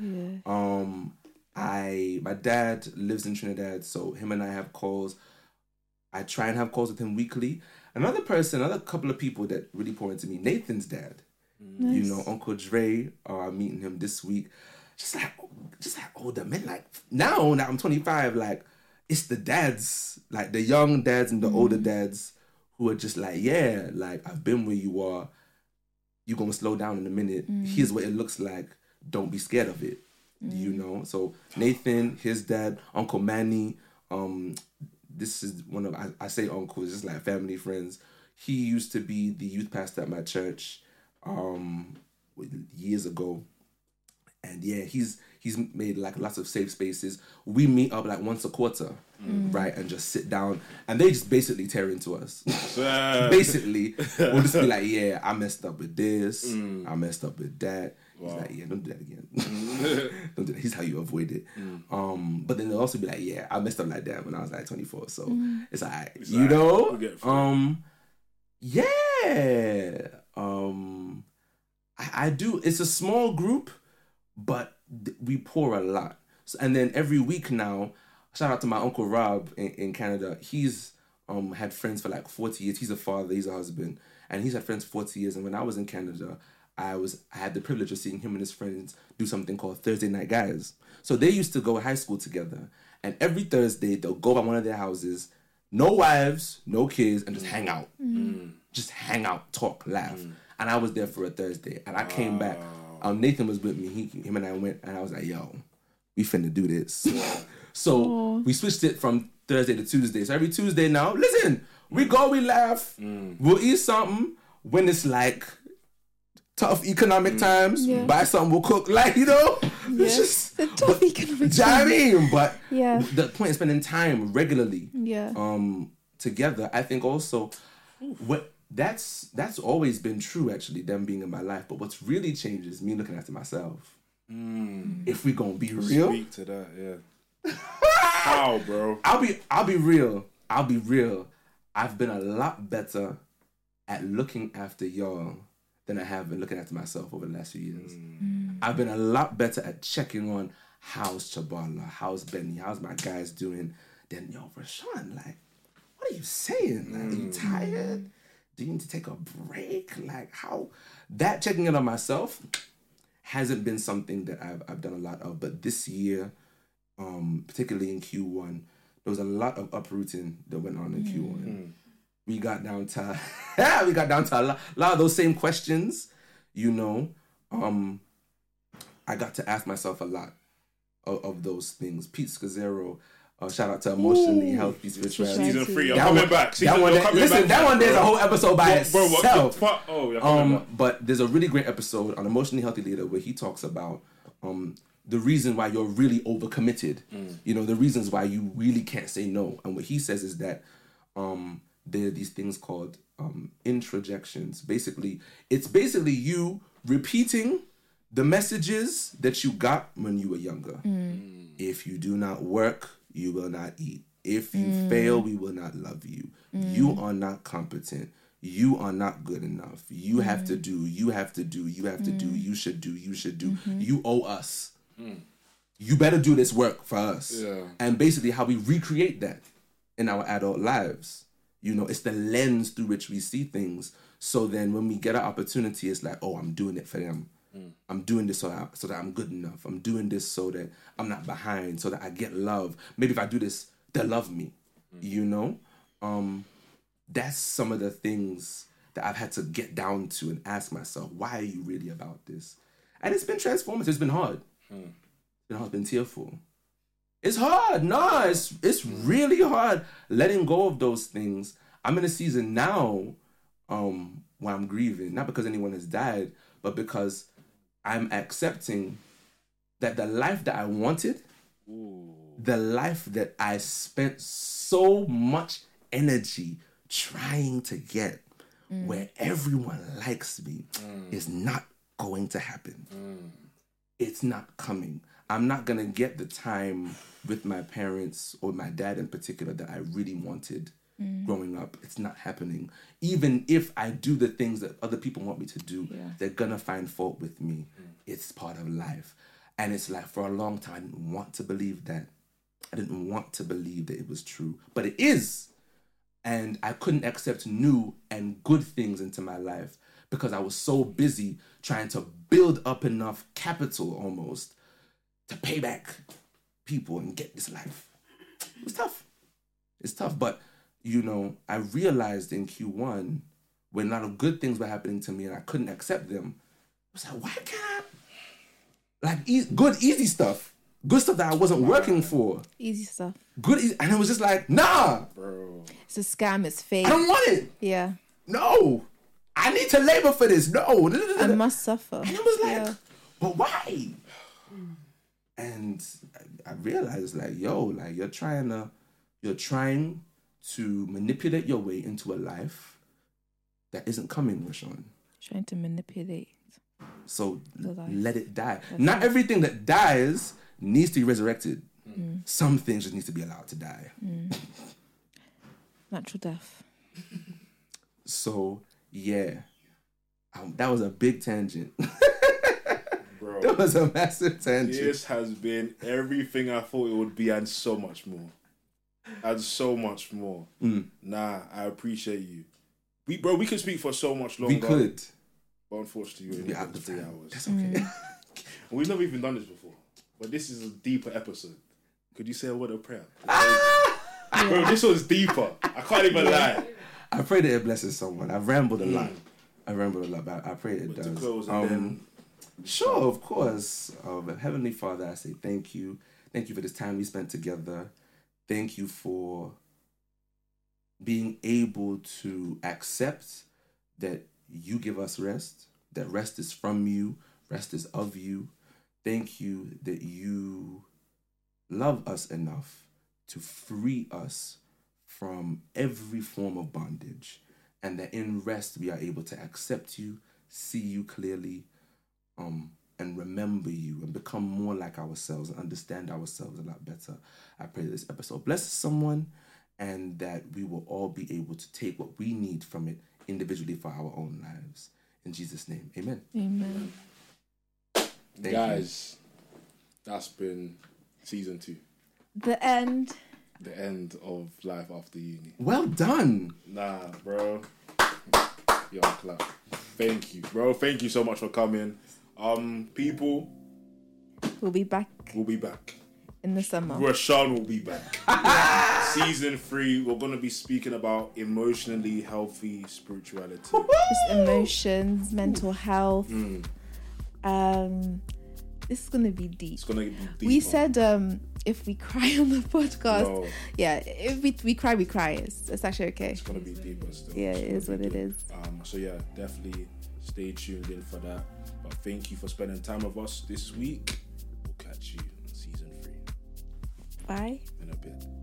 My dad lives in Trinidad, so him and I have calls. I try and have calls with him weekly. Another couple of people that really pour into me, Nathan's dad. Nice. Uncle Dre, I'm meeting him this week. Just like older men, like now that I'm 25, like it's the dads, like the young dads and the older dads who are just like, yeah, like, I've been where you are. You're going to slow down in a minute. Here's what it looks like. Don't be scared of it. You know? So Nathan, his dad, Uncle Manny, this is one of, I say uncles, just like family friends. He used to be the youth pastor at my church years ago. And yeah, he's made like lots of safe spaces. We meet up like once a quarter, right? And just sit down. And they just basically tear into us. Basically, we'll just be like, yeah, I messed up with this. I messed up with that. Wow. He's like, yeah, don't do that again. Don't do that. Here's how you avoid it. But then they'll also be like, yeah, I messed up like that when I was like 24. So it's all right. It's you know? Yeah. I do. It's a small group, but we pour a lot. So, and then every week now, shout out to my Uncle Rob in Canada. He's had friends for like 40 years. He's a father, he's a husband, and he's had friends for 40 years. And when I was in Canada, I had the privilege of seeing him and his friends do something called Thursday Night Guys. So they used to go to high school together, and every Thursday they'll go by one of their houses, no wives, no kids, and just hang out. Just hang out, talk, laugh. And I was there for a Thursday, and I came back. Nathan was with me. Him and I went, and I was like, yo, we finna do this. So we switched it from Thursday to Tuesday. So every Tuesday now, listen, we go, we laugh, we'll eat something. When it's like tough economic times, buy something, we'll cook. Like, you know, it's just the tough economic times. I mean, but the point is spending time regularly together. I think also that's always been true, actually, them being in my life. But what's really changed is me looking after myself. If we gonna be real, speak to that, yeah. How, bro? I'll be real. I've been a lot better at looking after y'all than I have been looking after myself over the last few years. I've been a lot better at checking on how's Chabala, how's Benny, how's my guys doing. Then, yo, Rashawn, like, what are you saying? Like, are you tired? Do you need to take a break? Like, how? That checking in on myself hasn't been something that I've done a lot of. But this year, particularly in Q1, there was a lot of uprooting that went on in Q1. We got down to a lot of those same questions, you know. I got to ask myself a lot of those things. Pete Scazzero, shout out to Emotionally Healthy Spirituality. Season 3, I'm coming back. That one there's a whole episode by itself. Bro, but there's a really great episode on Emotionally Healthy Leader where he talks about the reason why you're really overcommitted. You know, the reasons why you really can't say no. And what he says is that there are these things called introjections. It's basically you repeating the messages that you got when you were younger. If you do not work, you will not eat. If you fail, we will not love you. You are not competent. You are not good enough. You have to do, you have to do, you have to do, you should do, you should do. You owe us. You better do this work for us. Yeah. And basically how we recreate that in our adult lives. You know, it's the lens through which we see things. So then when we get an opportunity, it's like, oh, I'm doing it for them. I'm doing this so that I'm good enough. I'm doing this so that I'm not behind, so that I get love. Maybe if I do this, they'll love me. You know? That's some of the things that I've had to get down to and ask myself, why are you really about this? And it's been transformative. It's been hard. It's been tearful. It's hard. No, it's really hard letting go of those things. I'm in a season now where I'm grieving, not because anyone has died, but because I'm accepting that the life that I wanted, the life that I spent so much energy trying to get, where everyone likes me, is not going to happen. It's not coming. I'm not going to get the time with my parents or my dad in particular that I really wanted growing up. It's not happening. Even if I do the things that other people want me to do, they're going to find fault with me. It's part of life. And it's like, for a long time, I didn't want to believe that. I didn't want to believe that it was true. But it is. And I couldn't accept new and good things into my life because I was so busy trying to build up enough capital almost to pay back people and get this life. It was tough. It's tough, but I realized in Q1 when a lot of good things were happening to me and I couldn't accept them. I was like, why can't I? Like, good, easy stuff. Good stuff that I wasn't working for. Easy stuff. Good, easy. And it was just like, nah. Bro. It's a scam, it's fake. I don't want it. Yeah. No. I need to labor for this. No. I must suffer. And it was like, but why? And I realized, like, you're trying to manipulate your way into a life that isn't coming, Rashawn. Trying to manipulate. So let it die. Not everything that dies needs to be resurrected. Some things just need to be allowed to die. Natural death. So, yeah. That was a big tangent. Bro. That was a massive tangent. This has been everything I thought it would be and so much more. And so much more. Nah, I appreciate you. We could speak for so much longer. We could. But unfortunately, we're out in 3 hours. That's okay. We've never even done this before. But this is a deeper episode. Could you say a word of prayer? Bro, this was deeper. I can't even lie. I pray that it blesses someone. I've rambled a lot. But I pray it does. To close and then... Sure, of course. Heavenly Father, I say thank you. Thank you for this time we spent together. Thank you for being able to accept that you give us rest, that rest is from you, rest is of you. Thank you that you love us enough to free us from every form of bondage, and that in rest we are able to accept you, see you clearly, and remember you and become more like ourselves and understand ourselves a lot better. I pray that this episode blesses someone and that we will all be able to take what we need from it individually for our own lives. In Jesus' name, amen. Amen. Guys, that's been season 2. The end. The end of life after uni. Well done. Nah, bro. Yo, clap. Thank you, bro. Thank you so much for coming. People. We'll be back. In the summer. Rashawn will be back. Season 3, we're going to be speaking about emotionally healthy spirituality. Just emotions, mental health. This is going to be deep. It's going to be deep. We said if we cry on the podcast, if we cry, we cry. It's actually okay. It's going to be deeper still. Yeah, it is what it is. So yeah, definitely stay tuned in for that. But thank you for spending time with us this week. We'll catch you in season 3. Bye. In a bit.